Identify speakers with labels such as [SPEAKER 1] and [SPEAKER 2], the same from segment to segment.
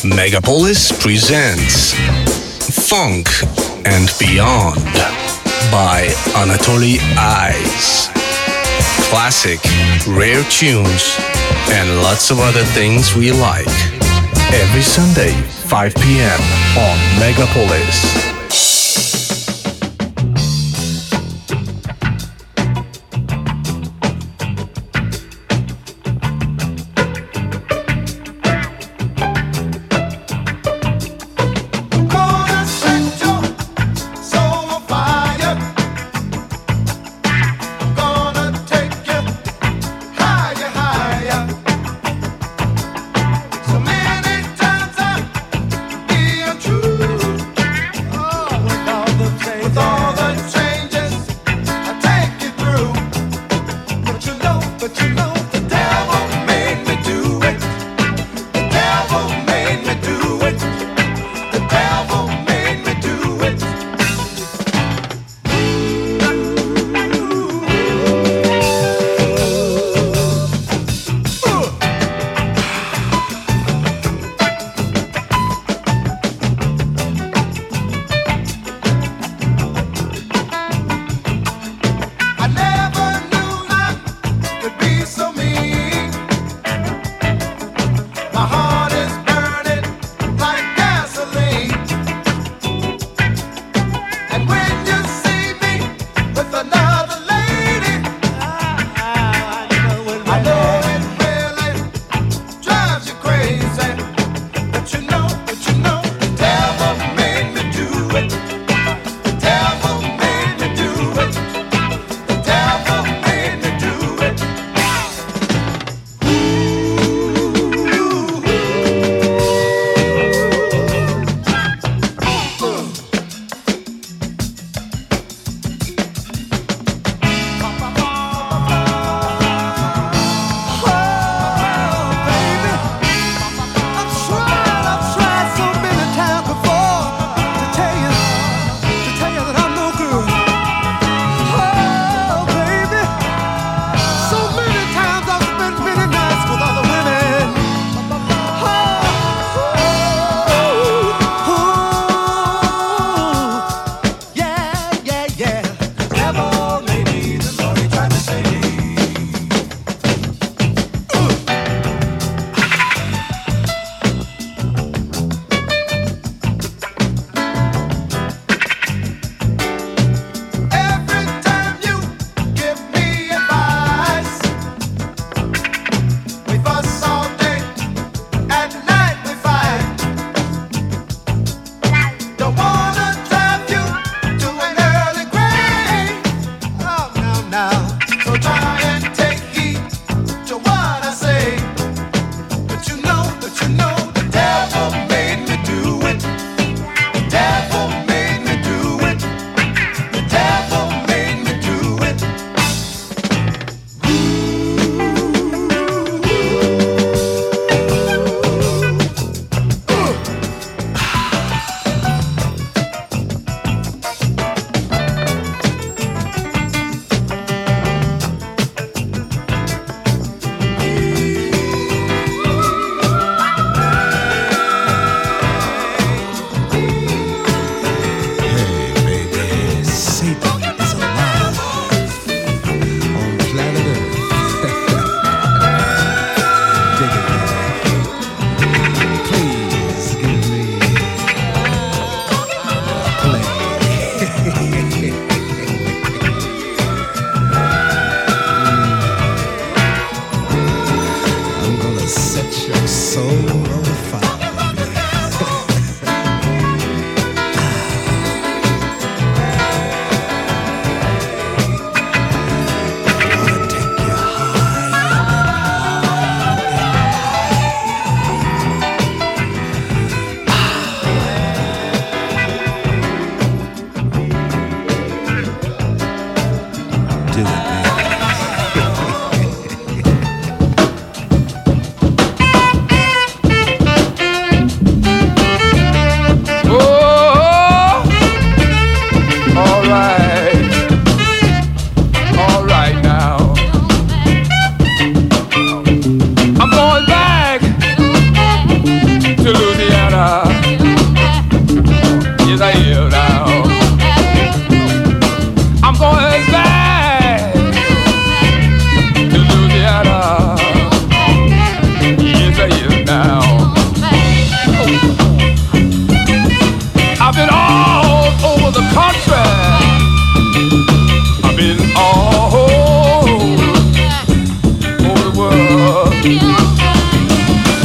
[SPEAKER 1] Megapolis presents Funk and Beyond by Anatoly Eyes. Classic, rare tunes, and lots of other things we like. Every Sunday, 5 p.m. on Megapolis.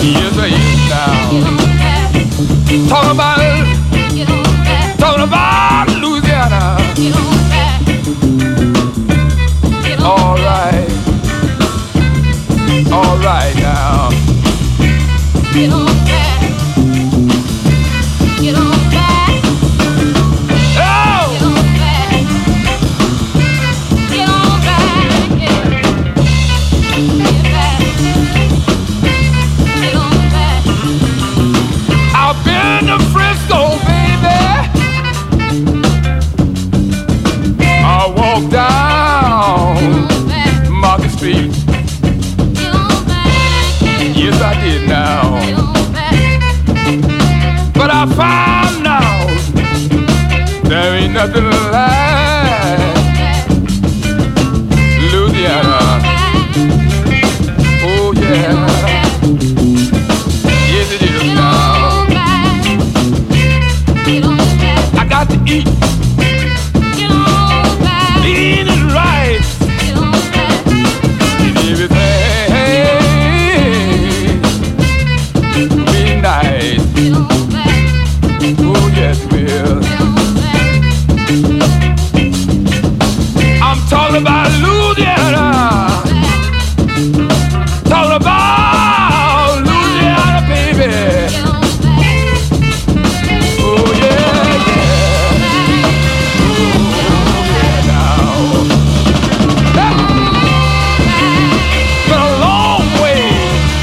[SPEAKER 2] Yes, I is now. Talking about Louisiana. All right now.
[SPEAKER 3] Get on back. Get on back.
[SPEAKER 2] Oh!
[SPEAKER 3] Get on back. Get on back. Get back. Get on back.
[SPEAKER 2] I've been to Frisco, baby. I walked down Market Street. Yes, I did now. But I found out there ain't nothing like Louisiana. Oh, yeah. Yes, it is now. I got to eat. Eat it right. And everything. Nice. Oh yes, will. I'm talking about Louisiana. Talking about Louisiana, baby. Oh yeah, yeah. Oh yeah, now. Been a long way.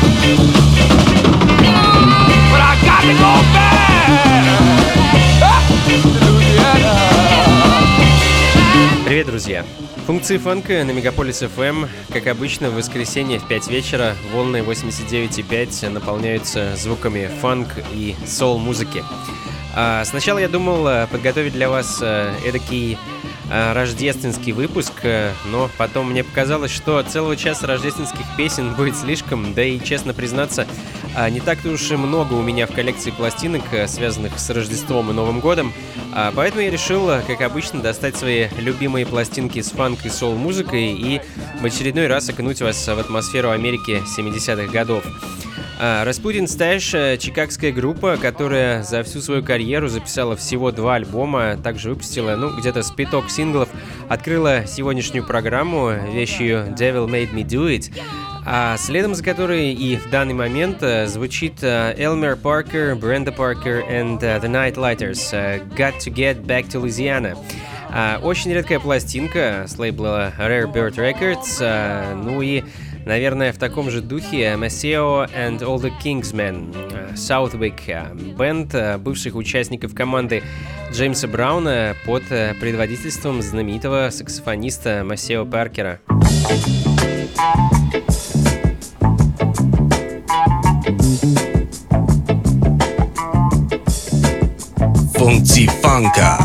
[SPEAKER 4] Привет, друзья! Функции фанка на Мегаполис FM. Как обычно, в воскресенье в 5 вечера волны 89,5 наполняются звуками фанк и соул-музыки. Сначала я думал подготовить для вас эдакий рождественский выпуск, но потом мне показалось, что целого часа рождественских песен будет слишком, да и, честно признаться, не так-то уж и много у меня в коллекции пластинок, связанных с Рождеством и Новым годом, поэтому я решил, как обычно, достать свои любимые пластинки с фанк и соул-музыкой и в очередной раз окунуть вас в атмосферу Америки 70-х годов. Rasputin Stash — чикагская группа, которая за всю свою карьеру записала всего 2 альбома, также выпустила, где-то с 5 синглов, открыла сегодняшнюю программу вещью Devil Made Me Do It, а следом за которой и в данный момент звучит Elmer Parker, Brenda Parker and The Nightlighters, Got to Get Back to Louisiana. Очень редкая пластинка с лейбла Rare Bird Records, и наверное, в таком же духе Maceo and All the Kingsmen, Southwick, бенд бывших участников команды Джеймса Брауна под предводительством знаменитого саксофониста Maceo Паркера.
[SPEAKER 1] Функции фанка.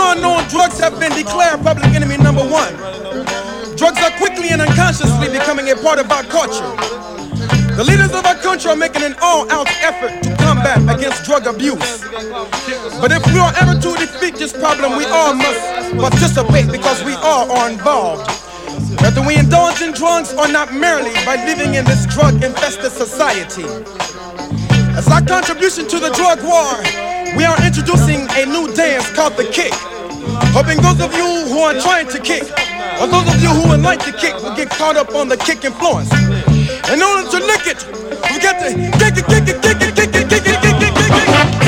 [SPEAKER 5] unknown, drugs have been declared public enemy number one. Drugs are quickly and unconsciously becoming a part of our culture. The leaders of our country are making an all-out effort to combat against drug abuse. But if we are ever to defeat this problem, we all must participate because we all are involved. Whether we indulge in drugs or not, merely by living in this drug-infested society. As our contribution to the drug war, we are introducing a new dance called the kick. Hoping those of you who are trying to kick, or those of you who would like to kick, will get caught up on the kick influence. In order to lick it, we got to kick it, kick it, kick it, kick it, kick it, kick it, kick it.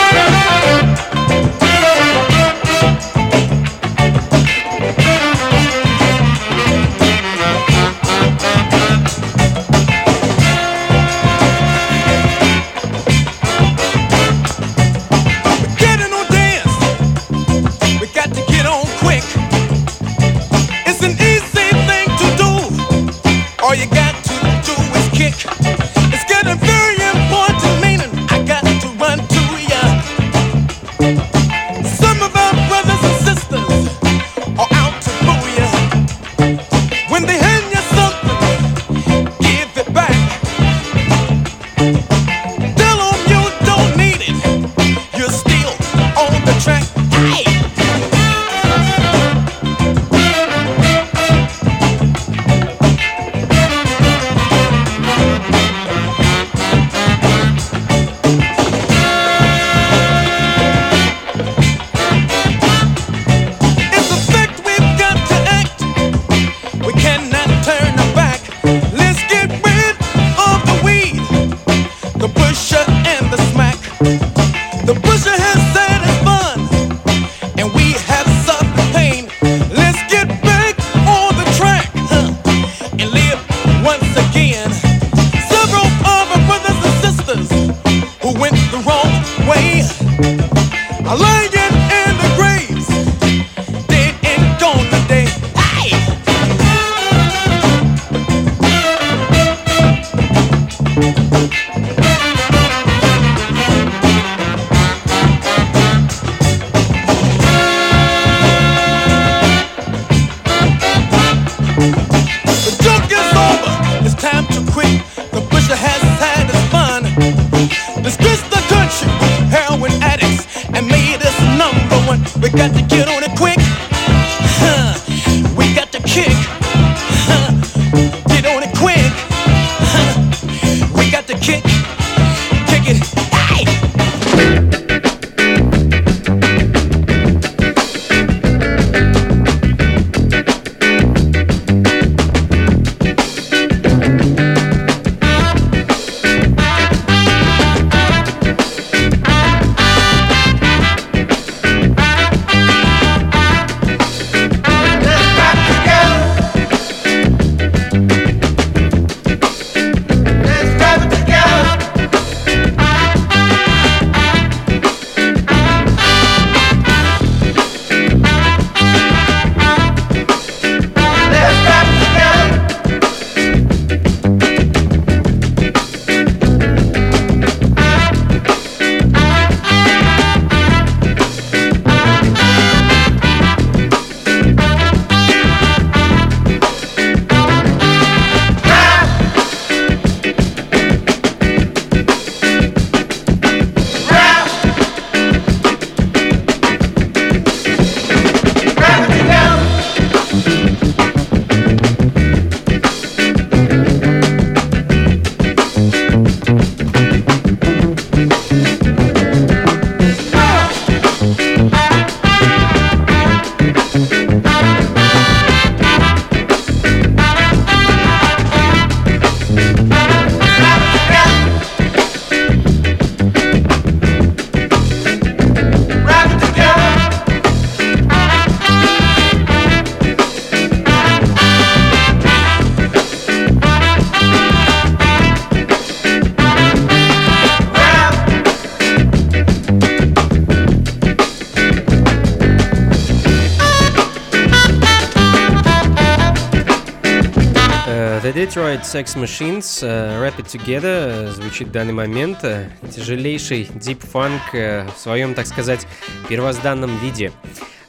[SPEAKER 4] The Detroit Sex Machines, Wrap It Together, звучит в данный момент. Тяжелейший дип-фанк в своем, так сказать, первозданном виде.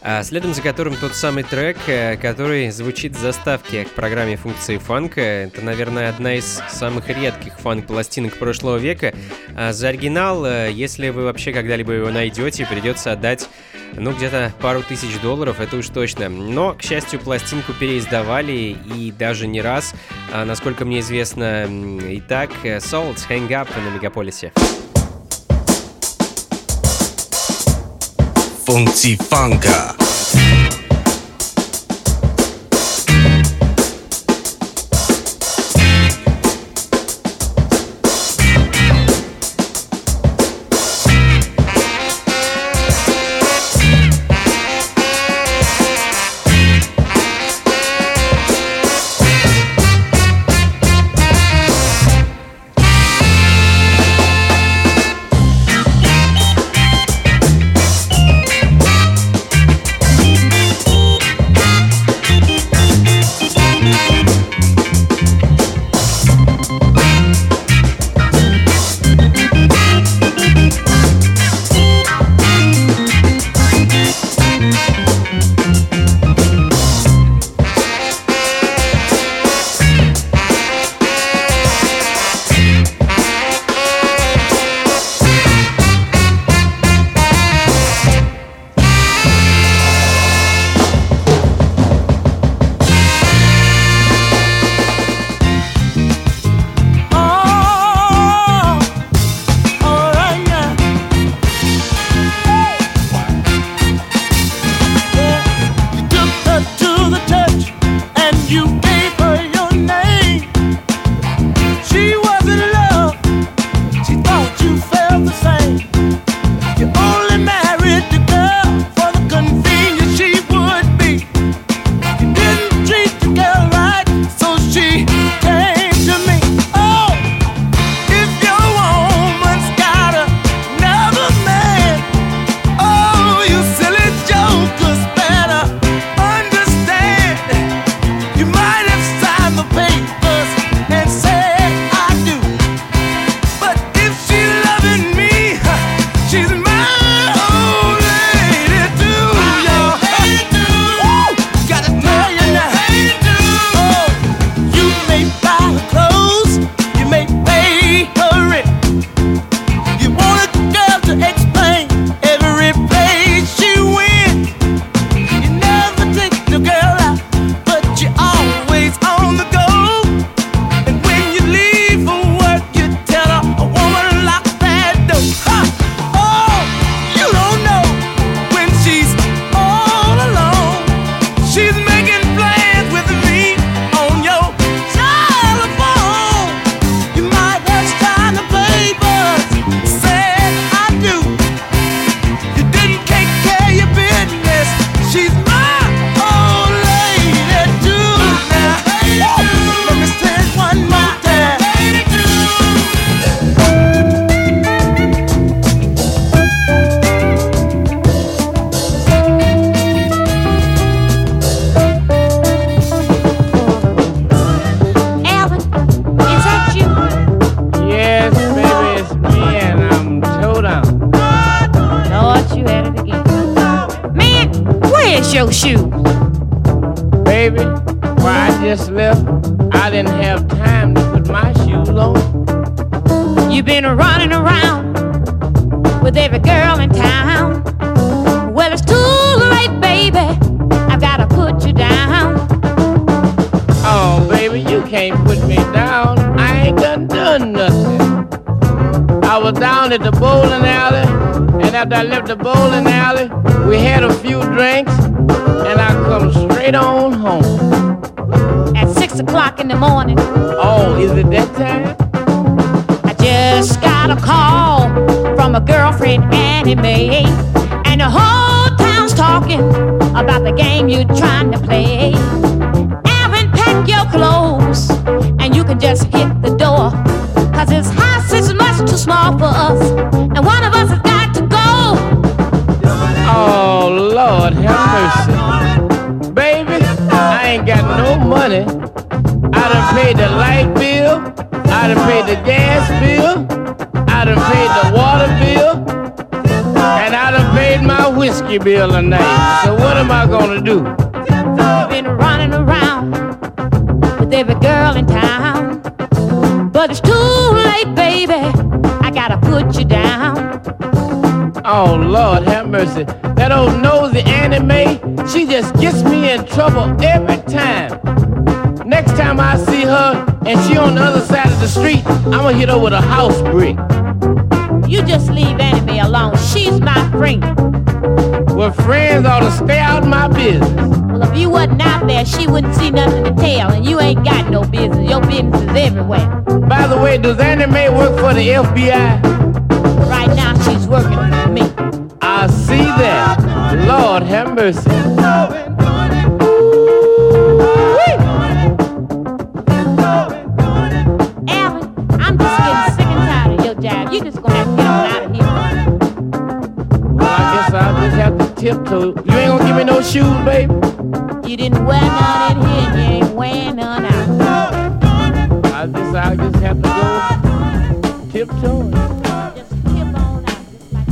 [SPEAKER 4] Следом за которым тот самый трек, который звучит в заставке к программе «Функции фанка». Это, наверное, одна из самых редких фанк-пластинок прошлого века. За оригинал, если вы вообще когда-либо его найдете, придется отдать, где-то пару тысяч долларов, это уж точно. Но, к счастью, пластинку переиздавали и даже не раз, насколько мне известно. Итак, Salt, Hang Up на Мегаполисе.
[SPEAKER 1] Функции фанка.
[SPEAKER 3] your shoes?
[SPEAKER 2] Baby, where I just left, I didn't have time to put my shoes on.
[SPEAKER 3] You've been running around with every girl in town. Well, it's too late, baby, I've gotta put you down.
[SPEAKER 2] Oh, baby, you can't put me down. I ain't done nothing. I was down at the bowling alley, and after I left the bowling alley, we had a few drinks, and I come straight on home.
[SPEAKER 3] At 6 o'clock in the morning.
[SPEAKER 2] Oh, is it that time?
[SPEAKER 3] I just got a call from a girlfriend, Annie Mae, and the whole town's talking about the game you're trying to play. Alvin, pack your clothes, and you can just hit the door, 'cause this house is much too small for us, and one of us has got to go.
[SPEAKER 2] Oh, Lord, have mercy. Baby, I ain't got no money. I done paid the light bill, I done paid the gas bill, I done paid the water bill, and I done paid my whiskey bill tonight. So what am I gonna do?
[SPEAKER 3] I've been running around with every girl in town, but it's too late, baby. I gotta put you down.
[SPEAKER 2] Oh, Lord, have mercy. That old nosy Annie Mae, she just gets me in trouble every time. Next time I see her and she on the other side of the street, I'ma hit her with a house brick.
[SPEAKER 3] You just leave Annie Mae alone. She's my friend.
[SPEAKER 2] Well, friends ought to stay out of my business.
[SPEAKER 3] Well, if you wasn't out there, she wouldn't see nothing to tell, and you ain't got no business. Your business is everywhere.
[SPEAKER 2] By the way, does Annie Mae work for the FBI?
[SPEAKER 3] Right now, she's working for me.
[SPEAKER 2] I see that. Lord, have mercy.
[SPEAKER 3] Alvin, I'm just getting sick and tired of your jive. You just gonna have to get on out of here.
[SPEAKER 2] Well, I guess I'll just have to tiptoe. You ain't gonna give me no shoes, baby?
[SPEAKER 3] You didn't wear none in here, and you ain't wearing none out.
[SPEAKER 2] I'll just have to go tiptoeing.
[SPEAKER 3] Just tip on out, just like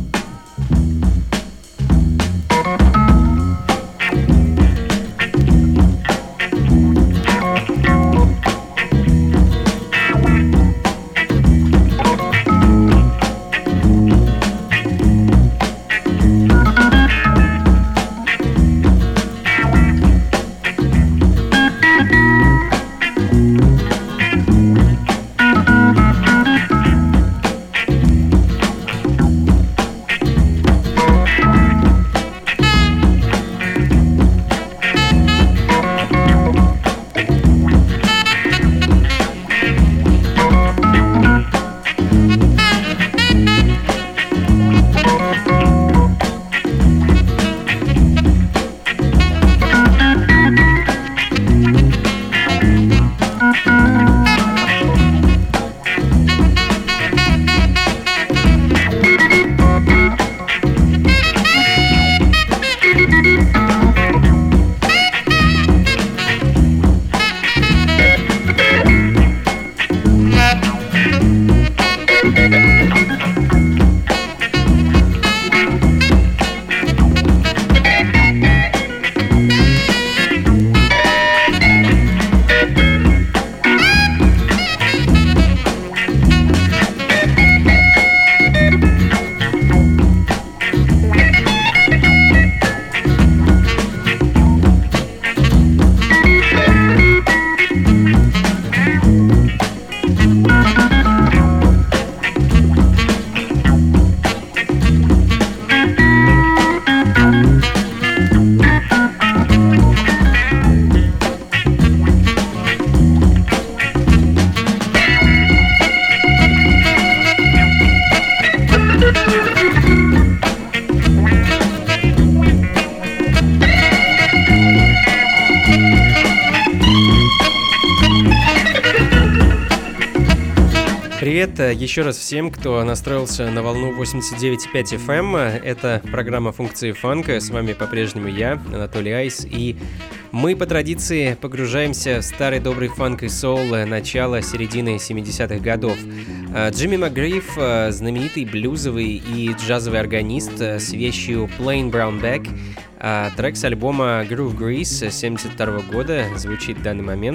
[SPEAKER 4] Привет еще раз всем, кто настроился на волну 89.5 FM. Это программа «Функции фанка». С вами по-прежнему я, Анатолий Айс. И мы по традиции погружаемся в старый добрый фанк и соул начала середины 70-х годов. Джимми МакГриф, знаменитый блюзовый и джазовый органист с вещью «Plain Brown Bag». Трек с альбома Groove Grease 1972 года звучит в данный момент.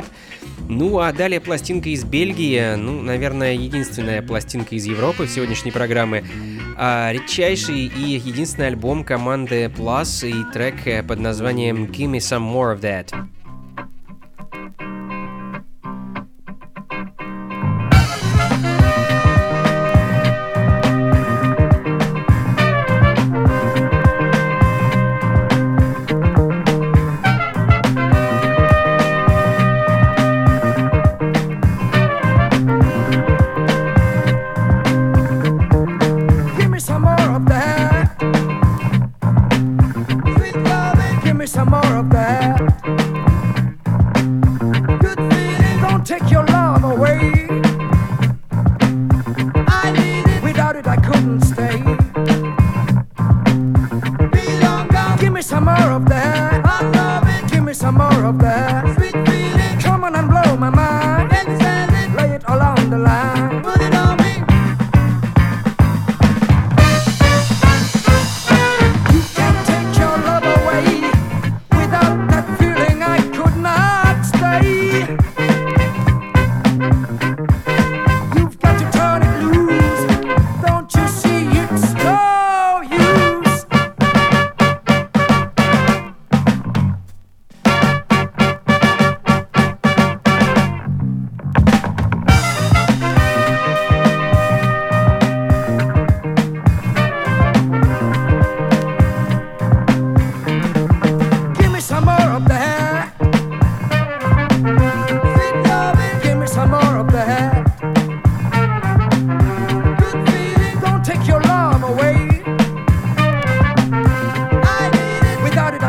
[SPEAKER 4] Ну а далее пластинка из Бельгии, наверное, единственная пластинка из Европы в сегодняшней программе. Редчайший и единственный альбом команды Plus и трек под названием Give Me Some More of That.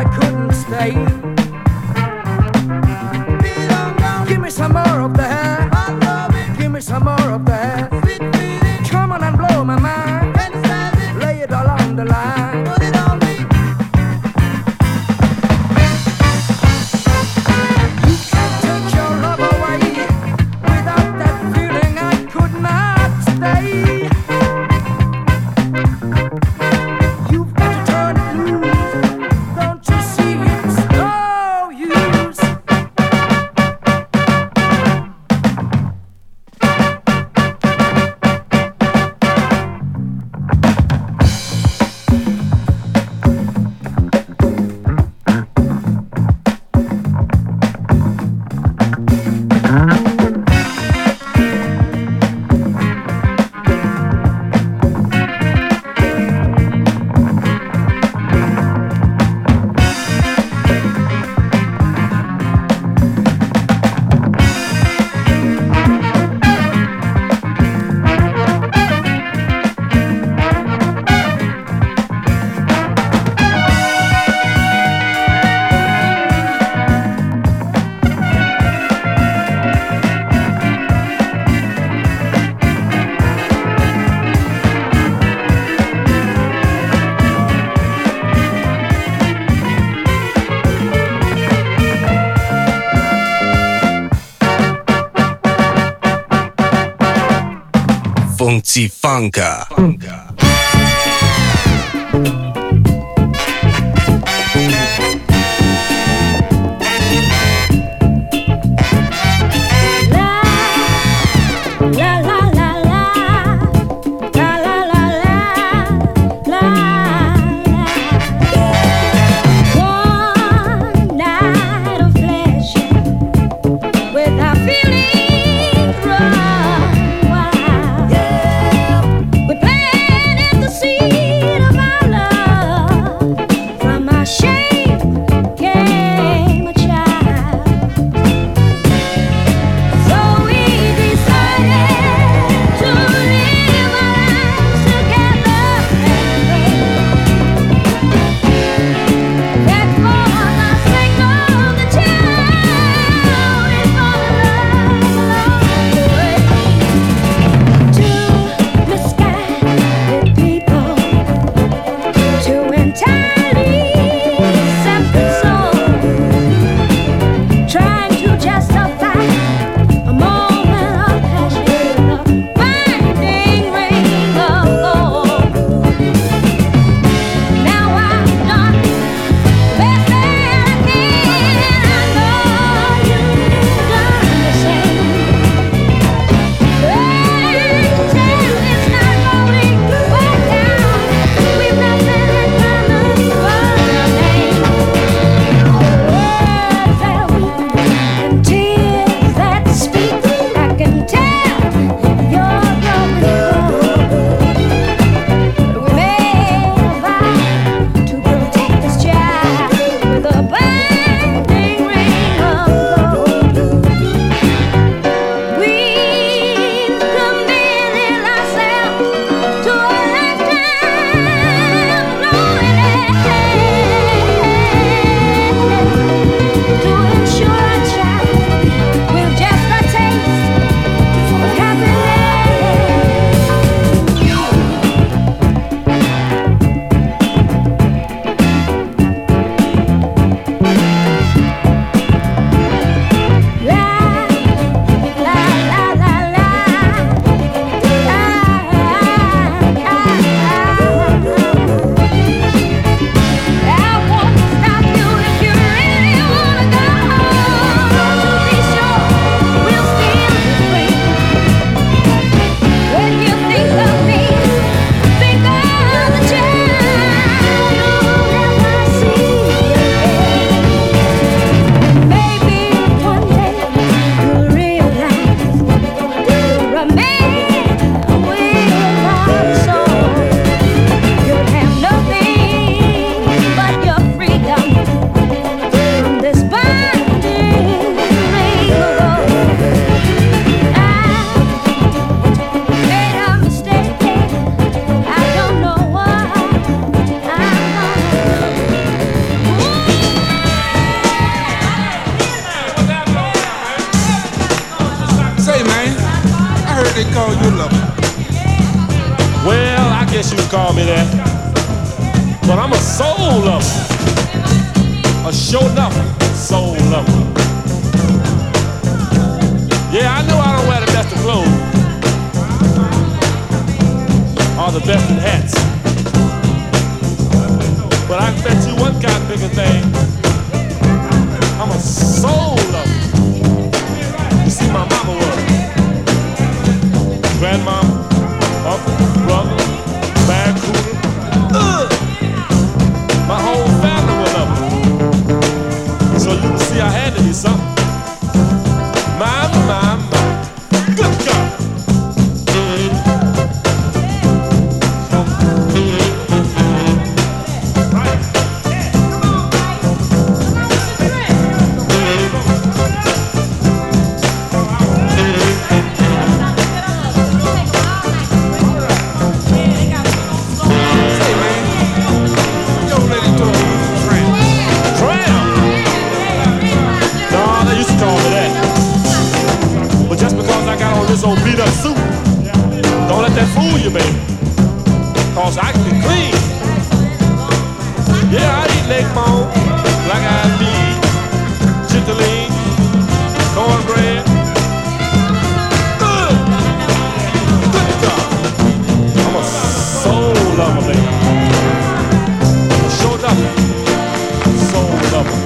[SPEAKER 6] couldn't stay. Give me some more of that. Give me some more of that. Come on and blow my mind. Lay it all on the line. Put it on me. You can't take your love away. Without that feeling I could not stay. You've got to turn it loose. Don't you see it's no use.
[SPEAKER 1] Funky Funka.
[SPEAKER 3] Feeling run wild. Yeah. We play
[SPEAKER 5] lover.
[SPEAKER 7] Well, I guess you could call me that. But I'm a soul lover. A show enough soul lover. Yeah, I know I don't wear the best of clothes or the best of hats. But I can bet you one kind of bigger thing. I'm a soul lover. You see, my mama was grandmama, uncle, brother, bad cooler. My whole family was up. So you can see I had to be something. My. Good God. This old beat up suit. Don't let that fool you, baby. Cause I can be clean. Yeah, I eat leg bone, black eyed peas, chitterlings, cornbread. Good. Good God. I'm a soul lover, baby. Showed up. Soul lover.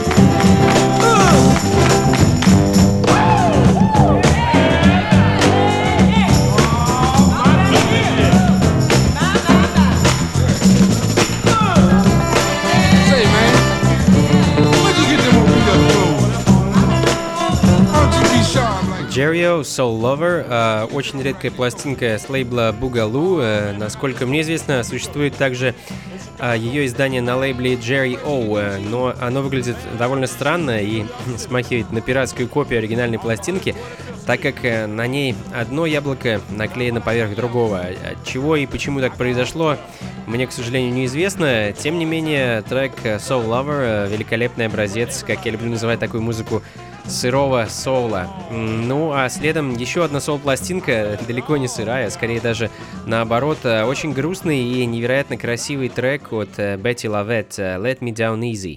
[SPEAKER 4] Jerry-O, Soul Lover, очень редкая пластинка с лейбла Boogaloo. Насколько мне известно, существует также ее издание на лейбле Jerry-O, но оно выглядит довольно странно и смахивает на пиратскую копию оригинальной пластинки, так как на ней одно яблоко наклеено поверх другого. От чего и почему так произошло, мне, к сожалению, неизвестно. Тем не менее, трек Soul Lover — великолепный образец, как я люблю называть такую музыку, сырого соула. Ну, а следом еще одна соул-пластинка, далеко не сырая, скорее даже наоборот, очень грустный и невероятно красивый трек от Betty Lavette, Let Me Down Easy.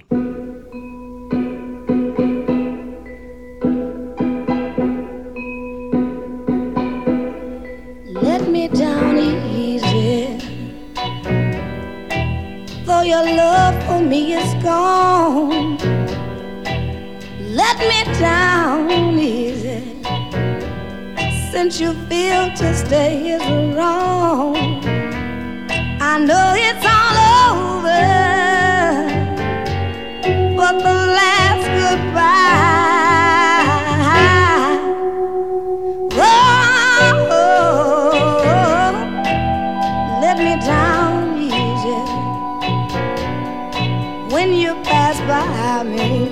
[SPEAKER 8] Let me down easy, though your love for me is gone. Let me down easy, since you feel to stay is wrong. I know it's all over, but the last goodbye. Oh, let me down easy when you pass by me.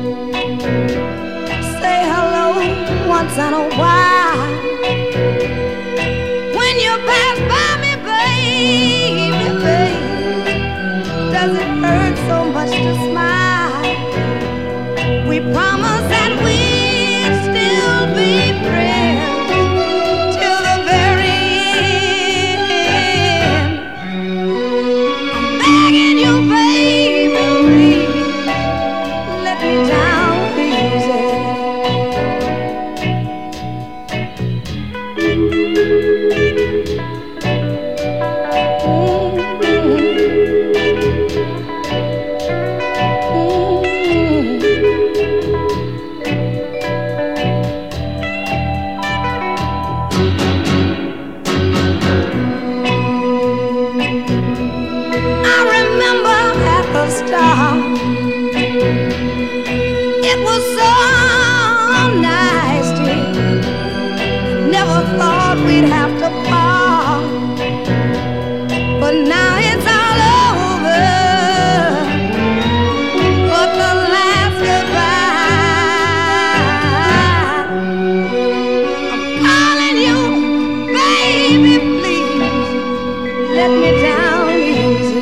[SPEAKER 8] Say hello once in a while. When you pass by me, baby, baby, does it hurt so much to smile? We promised that we'd still be friends till the very end. I'm begging you, baby, please, let me down easy. It was so nice, dear. Never thought we'd have to part, but now it's all over. But the last goodbye. I'm calling you, baby, please let me down easy.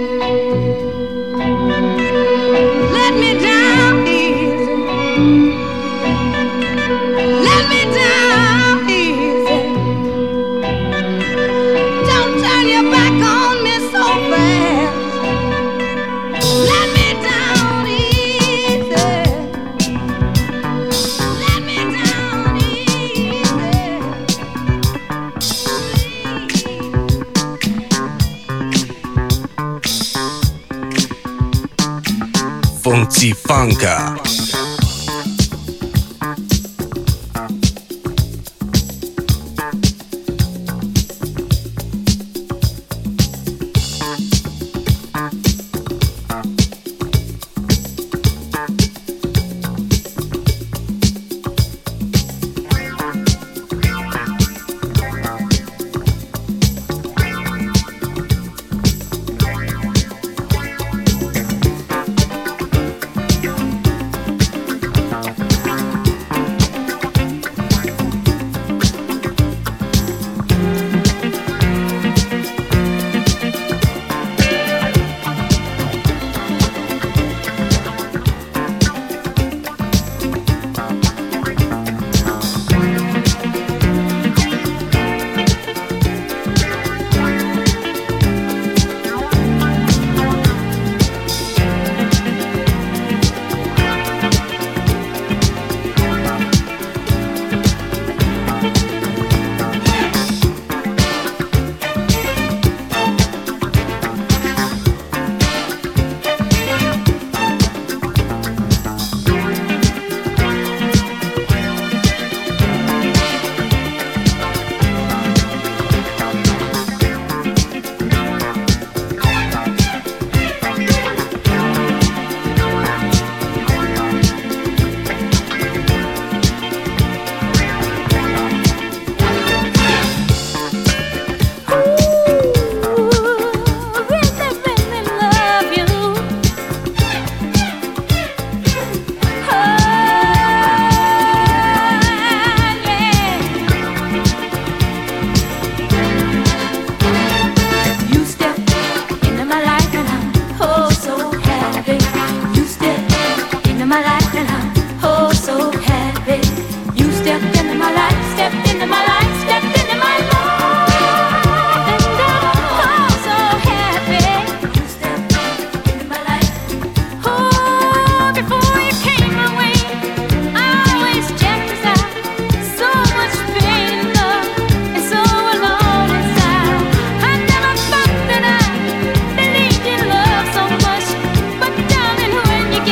[SPEAKER 8] Let me down easy. Let me down easy.
[SPEAKER 1] Funky Funka.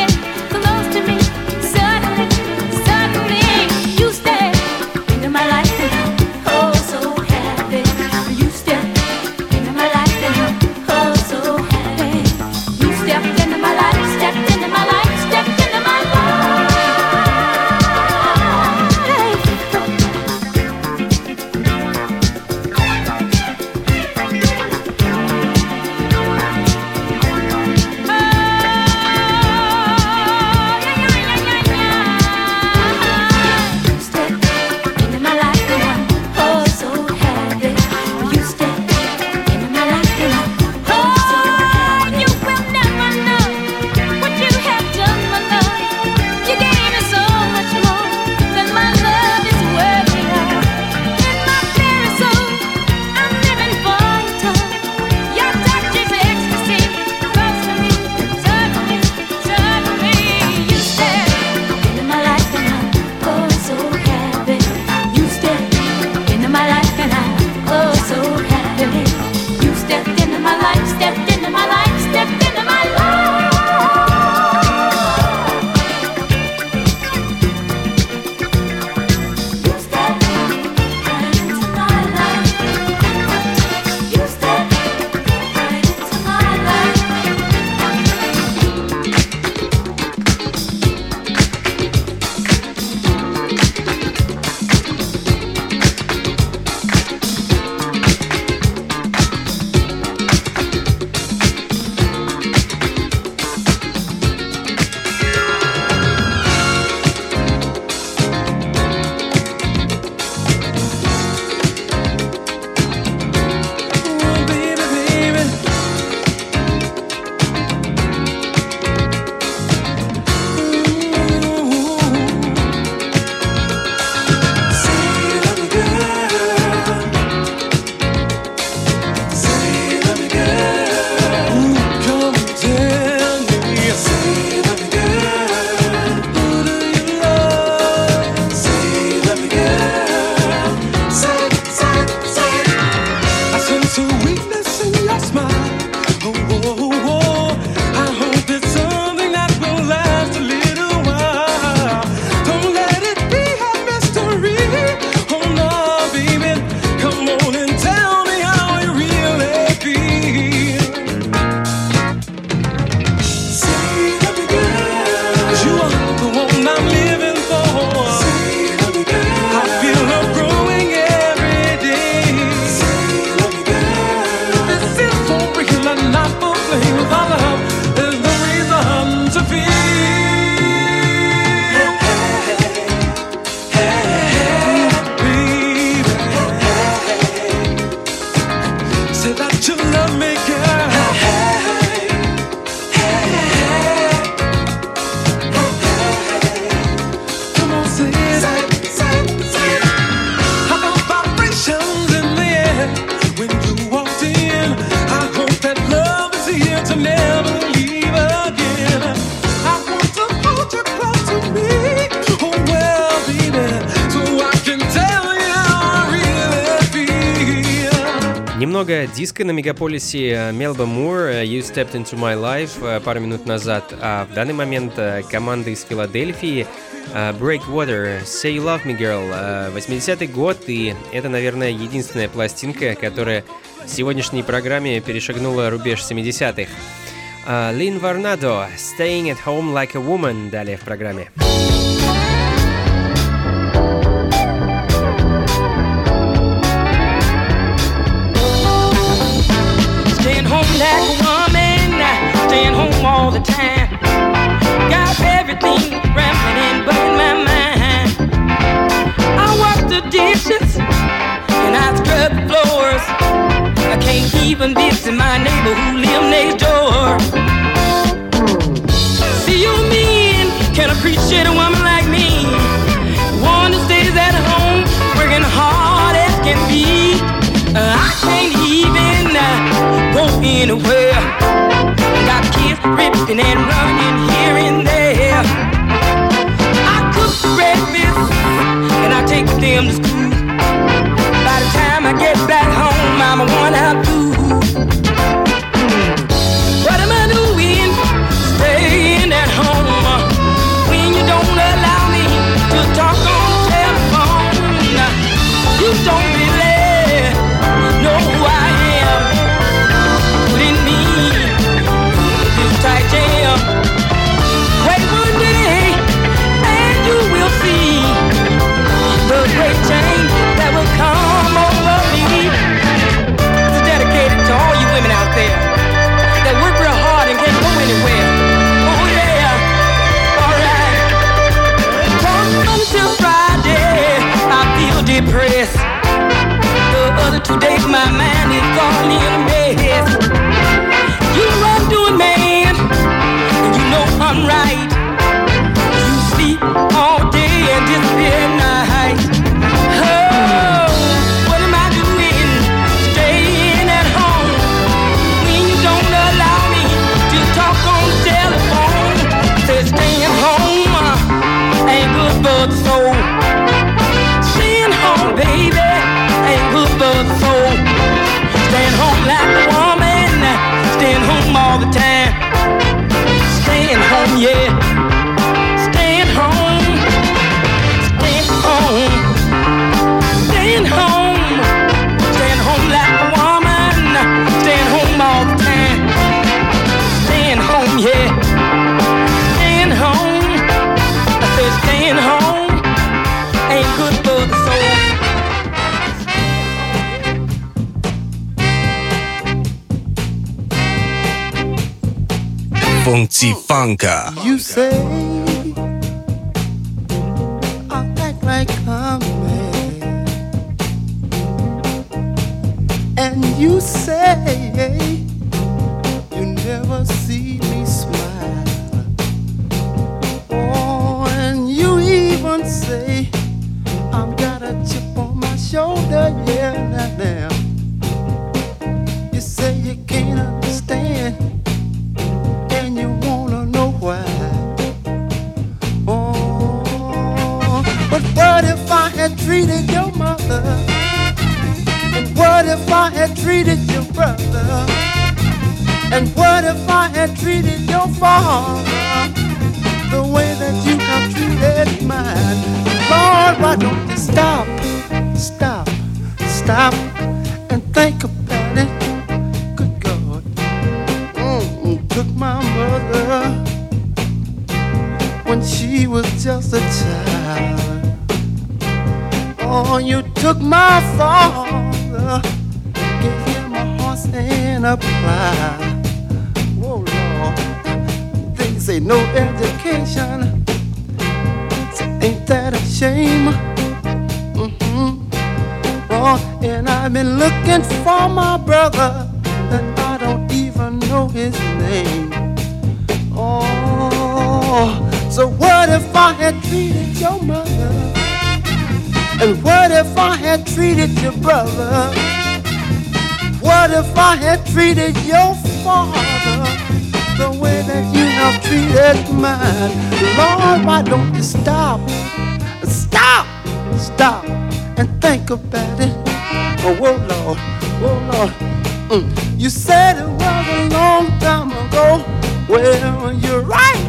[SPEAKER 3] My life.
[SPEAKER 4] немного диска на Мегаполисе. Мелба Мур, You Stepped Into My Life пару минут назад, а в данный момент команда из Филадельфии Breakwater, Say You Love Me Girl, 80-й год, и это, наверное, единственная пластинка, которая в сегодняшней программе перешагнула рубеж 70-х. Лин Варнадо, Staying at Home Like a Woman, далее в программе.
[SPEAKER 9] Like a woman, staying home all the time. Got everything rambling but in my mind. I wash the dishes and I scrub the floors. I can't even visit my neighbor who lives next door. See, you men can appreciate a woman like me, one that stays at home, working hard as can be. I can't even go anywhere. Got kids ripping and running here and there. I cook breakfast and I take them to school. By the time I get back home, I'm a one-out fool. What am I doing? Staying at home when you don't allow me to talk on the telephone. You don't really know who I am, putting me in this tight jam. Wait one day and you will see the great change that will come over me. This is dedicated to all you women out there that work real hard and can't go anywhere. Oh yeah, alright. From until Friday I feel depressed. The other 2 days my mind is all in a mess. You run doing man, and you know I'm right. You sleep all day and disappear at night. Oh, what am I doing? Staying at home when you don't allow me to talk on the telephone. Say staying home ain't good for the soul. Staying home, baby, ain't good for the soul. Staying home like a woman, staying home all the time. Staying home, yeah. Staying home, staying home, staying home. Staying home like a woman, staying home all the time. Staying home, yeah. Staying home, I said staying home ain't good for the soul.
[SPEAKER 1] Funky Funka.
[SPEAKER 10] You say I act like I'm mad, and you say you never see me smile. Oh, and you even say I've got a chip on my shoulder. Yeah, now you say you can't understand. You wanna know why? Oh, but what if I had treated your mother? And what if I had treated your brother? And what if I had treated your father the way that you have treated mine? Lord, why don't you stop, stop, stop and think about it? Took my mother when she was just a child. Oh, you took my father, gave him a horse and a plow. Whoa, Lord, they say no education. So ain't that a shame? Oh, and I've been looking for my brother, and I don't even know his name. Oh, so what if I had treated your mother? And what if I had treated your brother? What if I had treated your father the way that you have treated mine? Lord, why don't you stop, stop, stop and think about it? Oh, whoa, Lord. You said it was a long time ago. Well, you're right.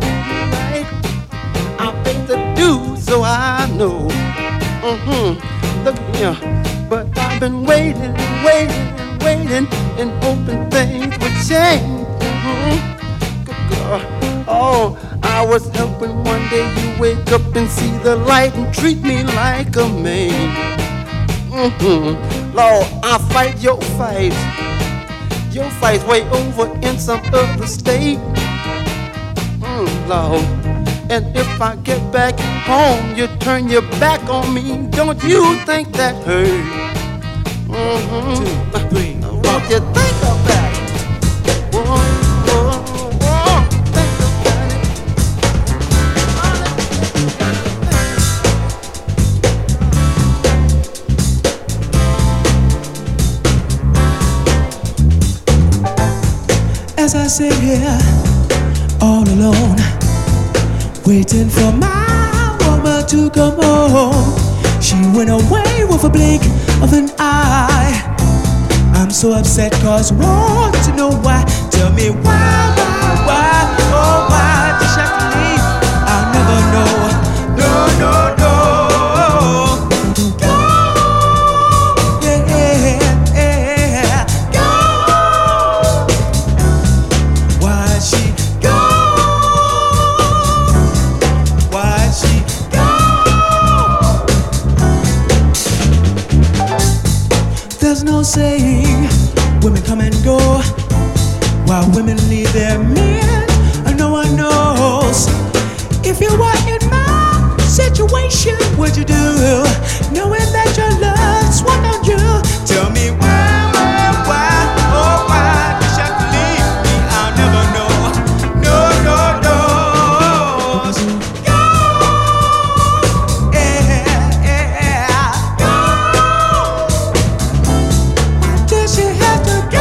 [SPEAKER 10] I paid the dues, so I know. Look here, but I've been waiting and waiting and waiting and hoping things would change. Good girl. Oh, I was hoping one day you wake up and see the light and treat me like a man. Lord, I fight your fight. Your fight's way over in some other state. Lord, and if I get back home, you turn your back on me. Don't you think that hurt? 1, 2, 3. What you think about it? Think about it.
[SPEAKER 11] As I sit here all alone, waiting for my woman to come home. She went away with a blink of an eye. I'm so upset cause want to know why. Tell me why, oh why did she have to leave? I'll never know, no. Go, yeah, go. Why'd she go? Why'd she go? There's no saying women come and go while women leave their men. No one knows. If you were in my situation, what'd you do? Knowing that your love swung on you. Tell me why, oh why did you have to leave me? I'll never know. No. Go, yeah, go. Why did she have to go?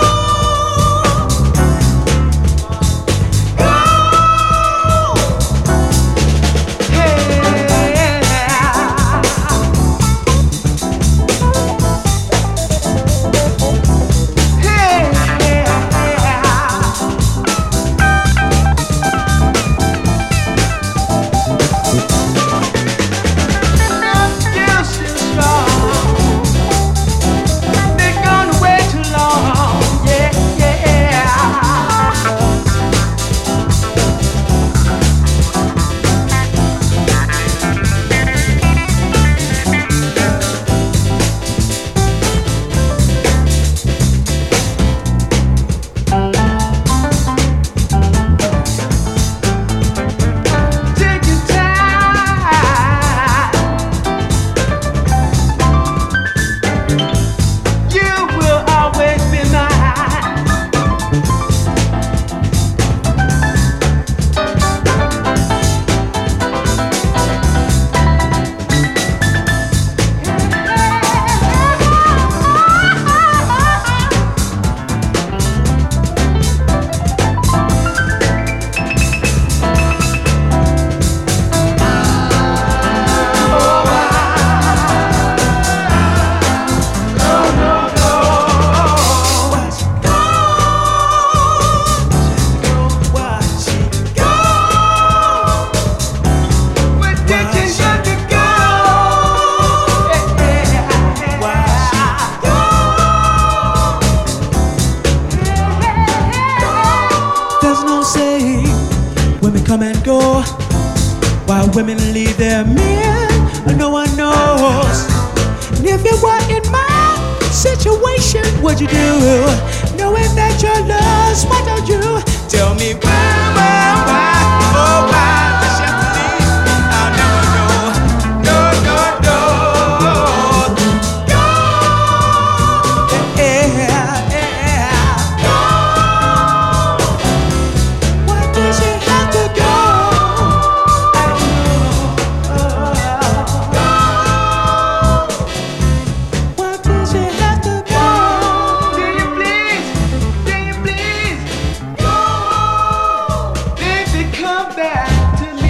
[SPEAKER 11] Come and go while women leave their men. No one knows. And if you were in my situation, what'd you do? Knowing that your love swung on you. Tell me why, oh why did she have to leave? I'll never know. No. Go, yeah. Go. Why did she have to go? Come back to me.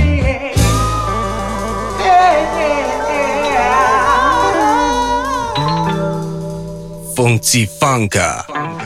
[SPEAKER 1] Функции фанка.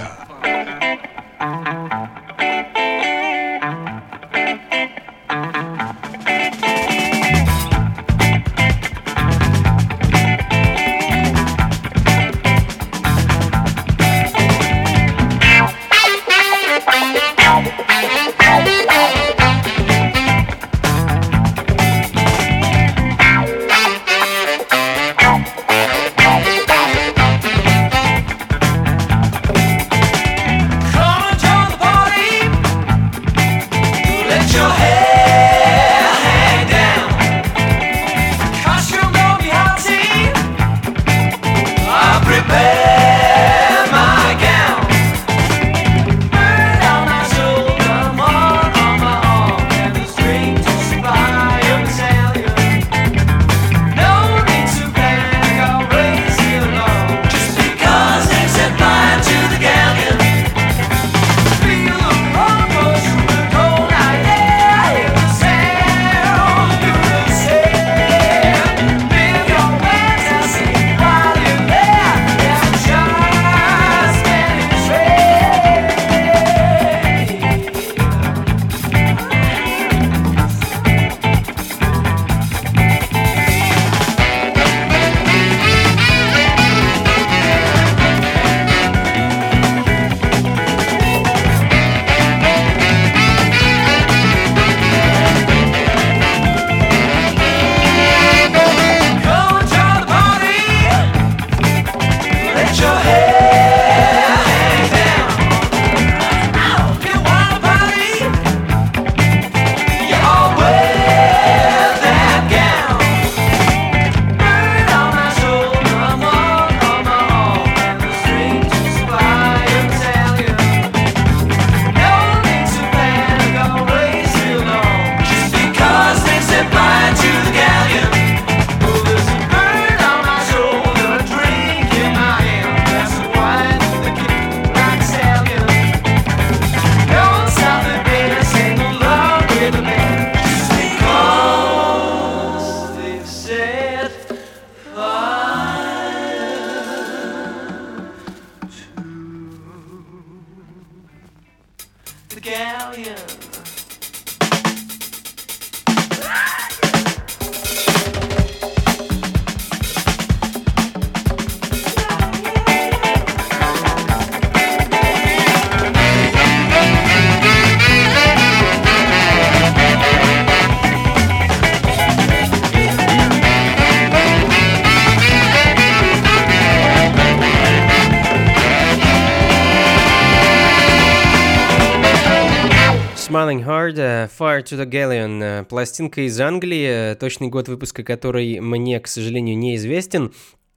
[SPEAKER 4] Smiling Hard, Fire to the Galleon, пластинка из Англии, точный год выпуска которой мне, к сожалению, неизвестен.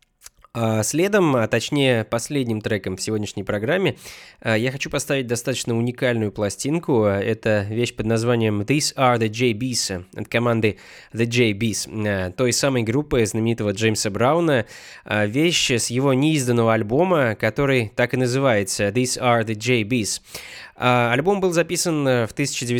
[SPEAKER 4] Следом, а точнее последним треком в сегодняшней программе, я хочу поставить достаточно уникальную пластинку. Это вещь под названием These Are the JBs от команды The JBs, той самой группы знаменитого Джеймса Брауна. Вещь с его неизданного альбома, который так и называется These Are the JBs. Альбом был записан в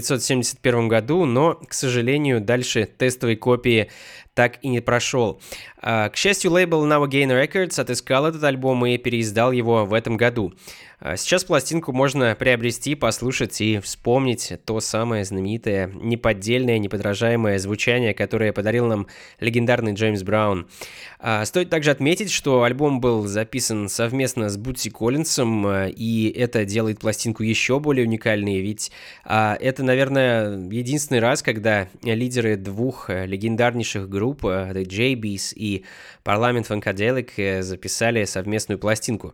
[SPEAKER 4] 1971 году, но, к сожалению, дальше тестовой копии так и не прошел. К счастью, лейбл Now Again Records отыскал этот альбом и переиздал его в этом году. Сейчас пластинку можно приобрести, послушать и вспомнить то самое знаменитое, неподдельное, неподражаемое звучание, которое подарил нам легендарный Джеймс Браун. Стоит также отметить, что альбом был записан совместно с Бутси Коллинсом, и это делает пластинку еще более уникальной, ведь это, наверное, единственный раз, когда лидеры двух легендарнейших групп, The JBs и Parliament Funkadelic, записали совместную пластинку.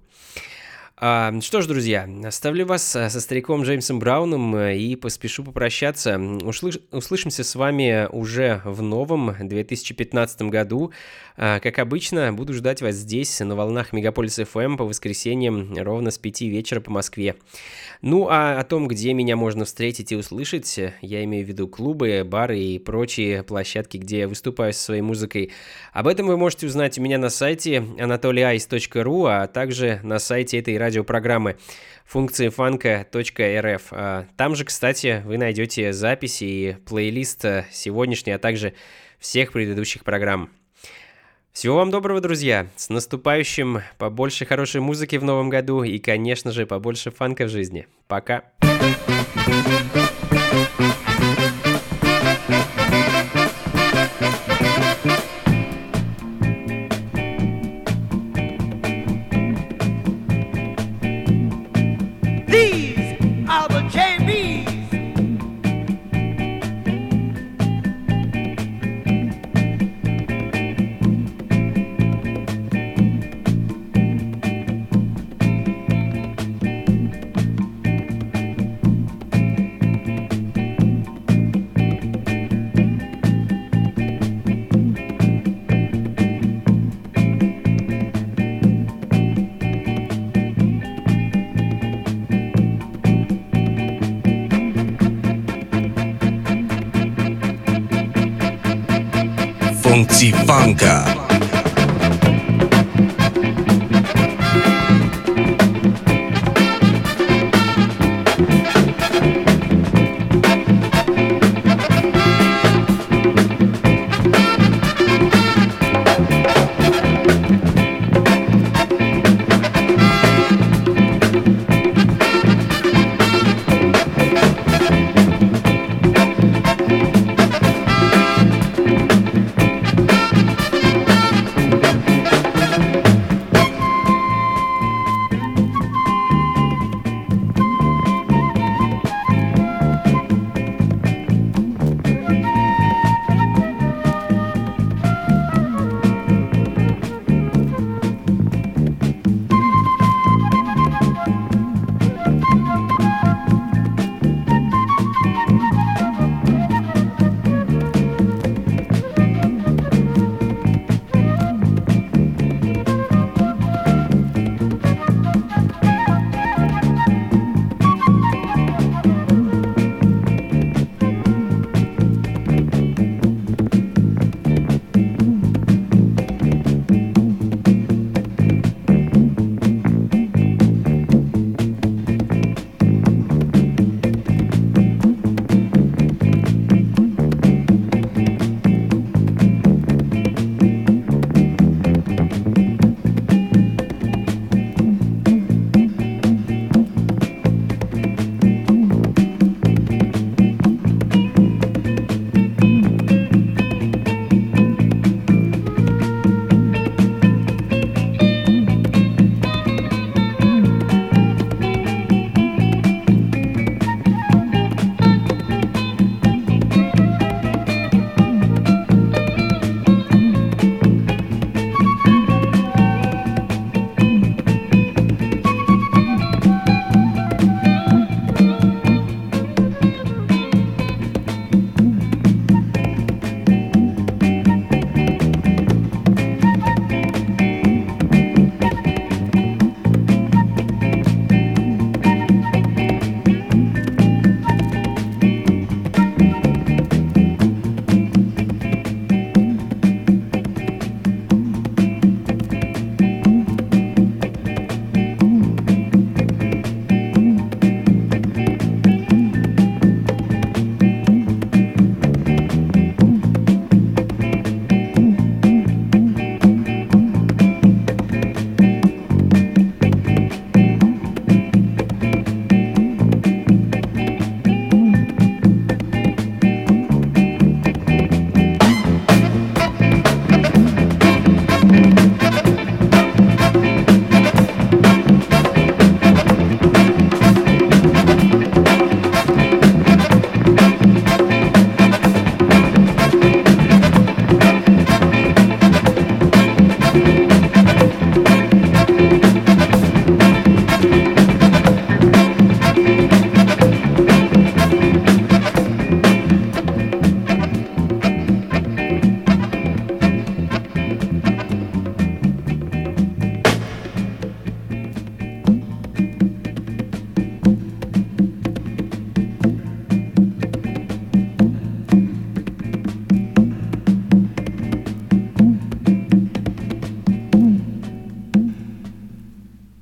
[SPEAKER 4] Что ж, друзья, оставлю вас со стариком Джеймсом Брауном и поспешу попрощаться. Услышимся с вами уже в новом 2015 году. Как обычно, буду ждать вас здесь, на волнах Мегаполис FM, по воскресеньям ровно с 5 вечера по Москве. Ну, а о том, где меня можно встретить и услышать, я имею в виду клубы, бары и прочие площадки, где я выступаю со своей музыкой, об этом вы можете узнать у меня на сайте anatolyice.ru, а также на сайте этой радиопрограммы функциифанка.рф. Там же, кстати, вы найдете записи и плейлист сегодняшней, а также всех предыдущих программ. Всего вам доброго, друзья! С наступающим! Побольше хорошей музыки в новом году и, конечно же, побольше фанка в жизни. Пока!
[SPEAKER 1] Funky Funka.